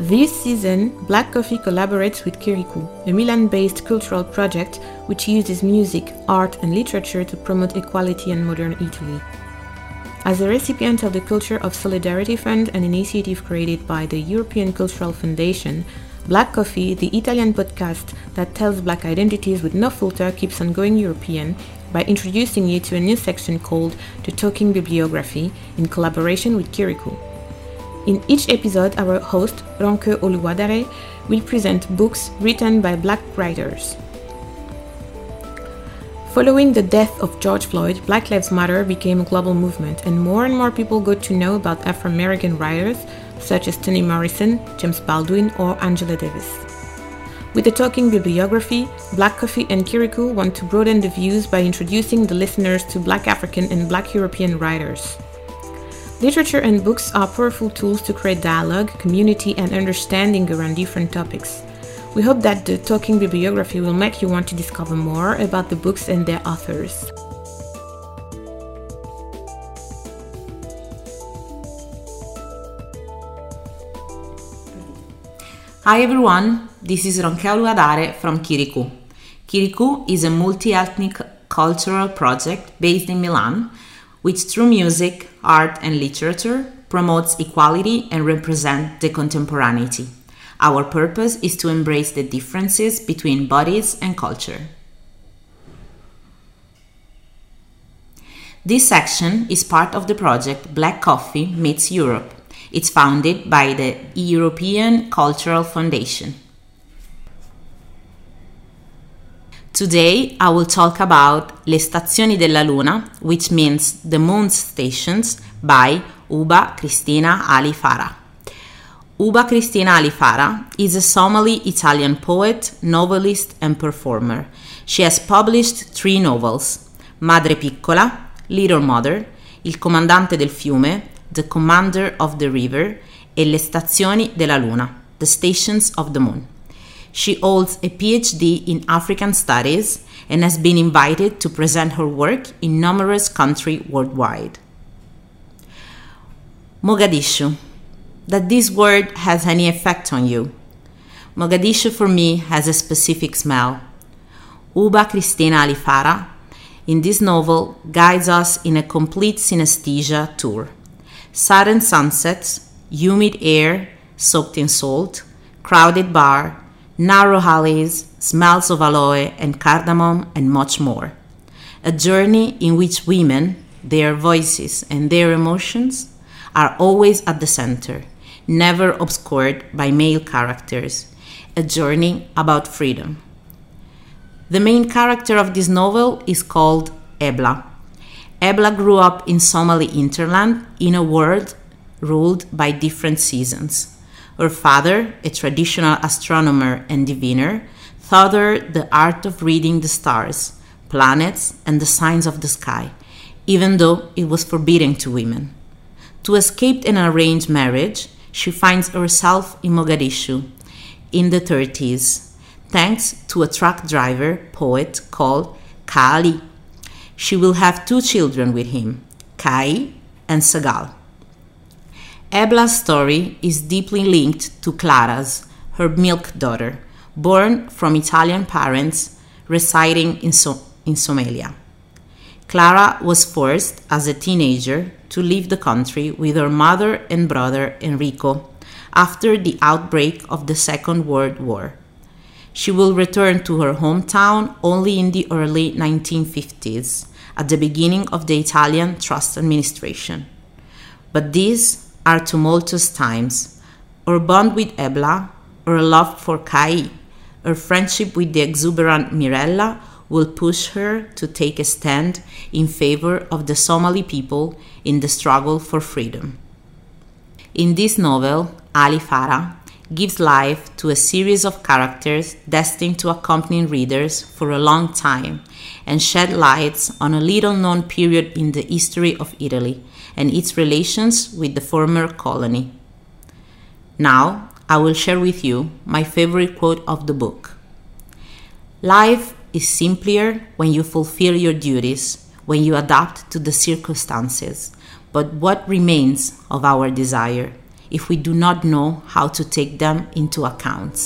This season, Black Coffee collaborates with Kirikou, a Milan-based cultural project which uses music, art and literature to promote equality in modern Italy. As a recipient of the Culture of Solidarity Fund, an initiative created by the European Cultural Foundation, Black Coffee, the Italian podcast that tells Black identities with no filter, keeps on going European by introducing you to a new section called The Talking Bibliography in collaboration with Kirikou. In each episode, our host, Ronke Oluwadare, will present books written by Black writers. Following the death of George Floyd, Black Lives Matter became a global movement, and more people got to know about Afro-American writers such as Toni Morrison, James Baldwin, or Angela Davis. With the Talking Bibliography, Black Coffee and Kirikou want to broaden the views by introducing the listeners to Black African and Black European writers. Literature and books are powerful tools to create dialogue, community, and understanding around different topics. We hope that the Talking Bibliography will make you want to discover more about the books and their authors. Hi everyone, this is Ronke Oluwadare from Kirikou. Kirikou is a multi-ethnic cultural project based in Milan, which through music, art and literature promotes equality and represents the contemporaneity. Our purpose is to embrace the differences between bodies and culture. This section is part of the project Black Coffee Meets Europe. It's founded by the European Cultural Foundation. Today I will talk about Le Stazioni della Luna, which means the moon's stations, by Uba Cristina Ali Farah. Uba Cristina Ali Farah is a Somali-Italian poet, novelist and performer. She has published 3 novels: Madre Piccola, Little Mother, Il Comandante del Fiume, The Commander of the River, e Le Stazioni della Luna, The Stations of the Moon. She holds a PhD in African Studies and has been invited to present her work in numerous countries worldwide. Mogadishu. That this word has any effect on you? Mogadishu for me has a specific smell. Uba Cristina Ali Farah, in this novel, guides us in a complete synesthesia tour. Sudden sunsets, humid air soaked in salt, crowded bar, narrow alleys, smells of aloe and cardamom, and much more. A journey in which women, their voices and their emotions are always at the center, never obscured by male characters. A journey about freedom. The main character of this novel is called Ebla. Ebla grew up in Somali hinterland in a world ruled by different seasons. Her father, a traditional astronomer and diviner, taught her the art of reading the stars, planets, and the signs of the sky, even though it was forbidden to women. To escape an arranged marriage, she finds herself in Mogadishu in the 30s, thanks to a truck driver poet called Kaali. She will have 2 children with him, Kai and Sagal. Ebla's story is deeply linked to Clara's, her milk daughter, born from Italian parents residing in Somalia. Clara was forced as a teenager to leave the country with her mother and brother Enrico after the outbreak of the Second World War. She will return to her hometown only in the early 1950s, at the beginning of the Italian Trust Administration. But these are tumultuous times. Her bond with Ebla, her love for Kai, her friendship with the exuberant Mirella will push her to take a stand in favor of the Somali people in the struggle for freedom. In this novel, Ali Farah gives life to a series of characters destined to accompany readers for a long time and shed lights on a little-known period in the history of Italy and its relations with the former colony. Now, I will share with you my favorite quote of the book. Life is simpler when you fulfill your duties, when you adapt to the circumstances, but what remains of our desire? if we do not know how to take them into account.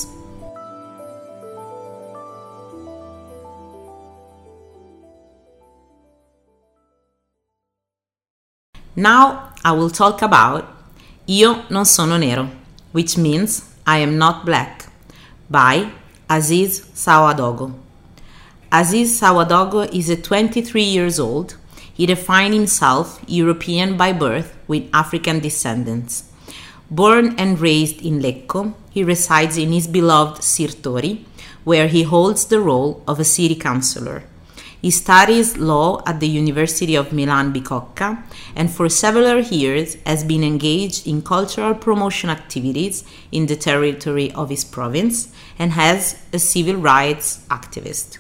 Now I will talk about Io non sono nero, which means I am not black, by Aziz Sawadogo. Aziz Sawadogo is 23 years old. He defined himself European by birth with African descendants. Born and raised in Lecco, he resides in his beloved Sirtori, where he holds the role of a city councillor. He studies law at the University of Milan Bicocca and for several years has been engaged in cultural promotion activities in the territory of his province and as a civil rights activist.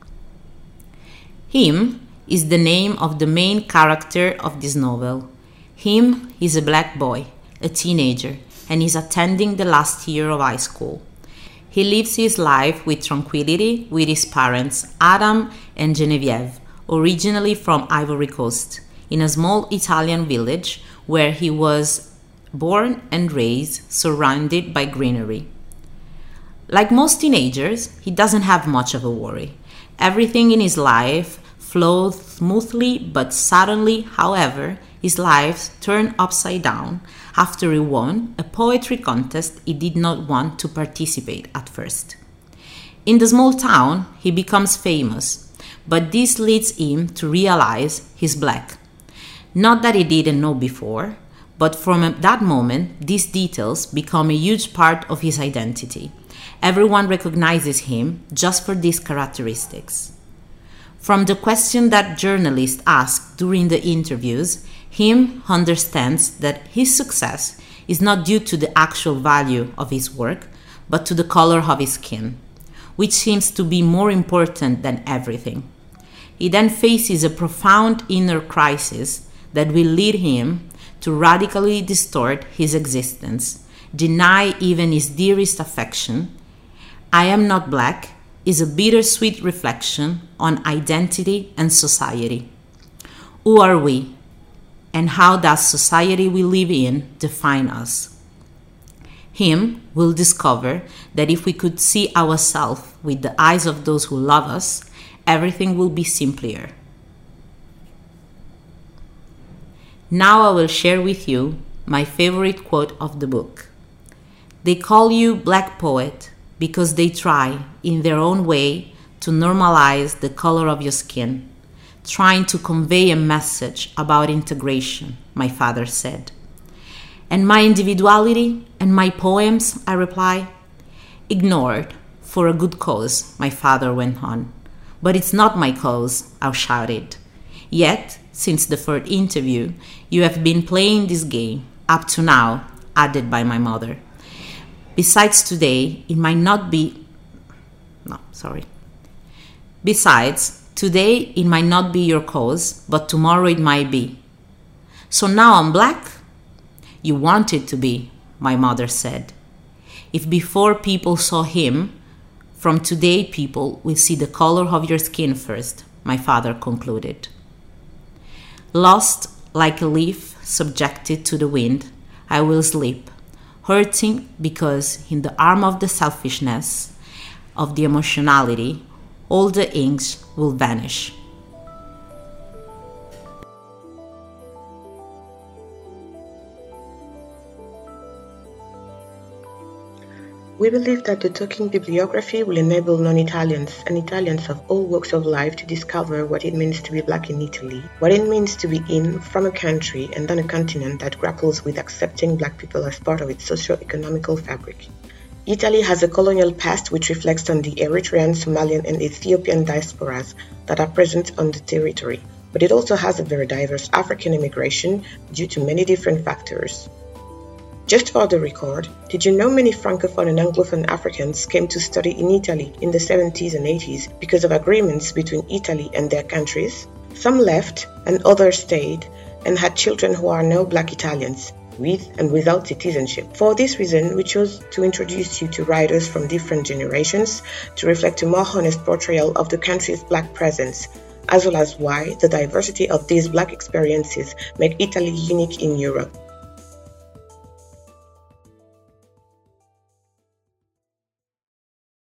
Him is the name of the main character of this novel. Him is a black boy, a teenager, and is attending the last year of high school. He lives his life with tranquility with his parents, Adam and Genevieve, originally from Ivory Coast, in a small Italian village where he was born and raised, surrounded by greenery. Like most teenagers, he doesn't have much of a worry. Everything in his life flows smoothly, but suddenly, however, his life turned upside down after he won a poetry contest he did not want to participate at first. In the small town, he becomes famous, but this leads him to realize he's black. Not that he didn't know before, but from that moment, these details become a huge part of his identity. Everyone recognizes him just for these characteristics. From the question that journalists ask during the interviews, Him understands that his success is not due to the actual value of his work, but to the color of his skin, which seems to be more important than everything. He then faces a profound inner crisis that will lead him to radically distort his existence, deny even his dearest affection. I Am Not Black is a bittersweet reflection on identity and society. Who are we? And how does society we live in define us? Him will discover that if we could see ourselves with the eyes of those who love us, everything will be simpler. Now I will share with you my favorite quote of the book. They call you Black Poet because they try, in their own way, to normalize the color of your skin, trying to convey a message about integration, my father said. And my individuality and my poems, I reply, ignored for a good cause, my father went on. But it's not my cause, I shouted. Yet, since the third interview, you have been playing this game, up to now, added by my mother. Besides, today, it might not be your cause, but tomorrow it might be. So now I'm black? You want it to be, my mother said. If before people saw him, from today people will see the color of your skin first, my father concluded. Lost like a leaf subjected to the wind, I will sleep, hurting because in the arm of the selfishness, of the emotionality, all the inks will vanish. We believe that the Talking Bibliography will enable non-Italians and Italians of all walks of life to discover what it means to be black in Italy, what it means to be from a country and on a continent that grapples with accepting black people as part of its socio-economical fabric. Italy has a colonial past which reflects on the Eritrean, Somalian and Ethiopian diasporas that are present on the territory, but it also has a very diverse African immigration due to many different factors. Just for the record, did you know many Francophone and Anglophone Africans came to study in Italy in the 70s and 80s because of agreements between Italy and their countries? Some left and others stayed and had children who are now black Italians, with and without citizenship. For this reason, we chose to introduce you to writers from different generations to reflect a more honest portrayal of the country's black presence, as well as why the diversity of these black experiences make Italy unique in Europe.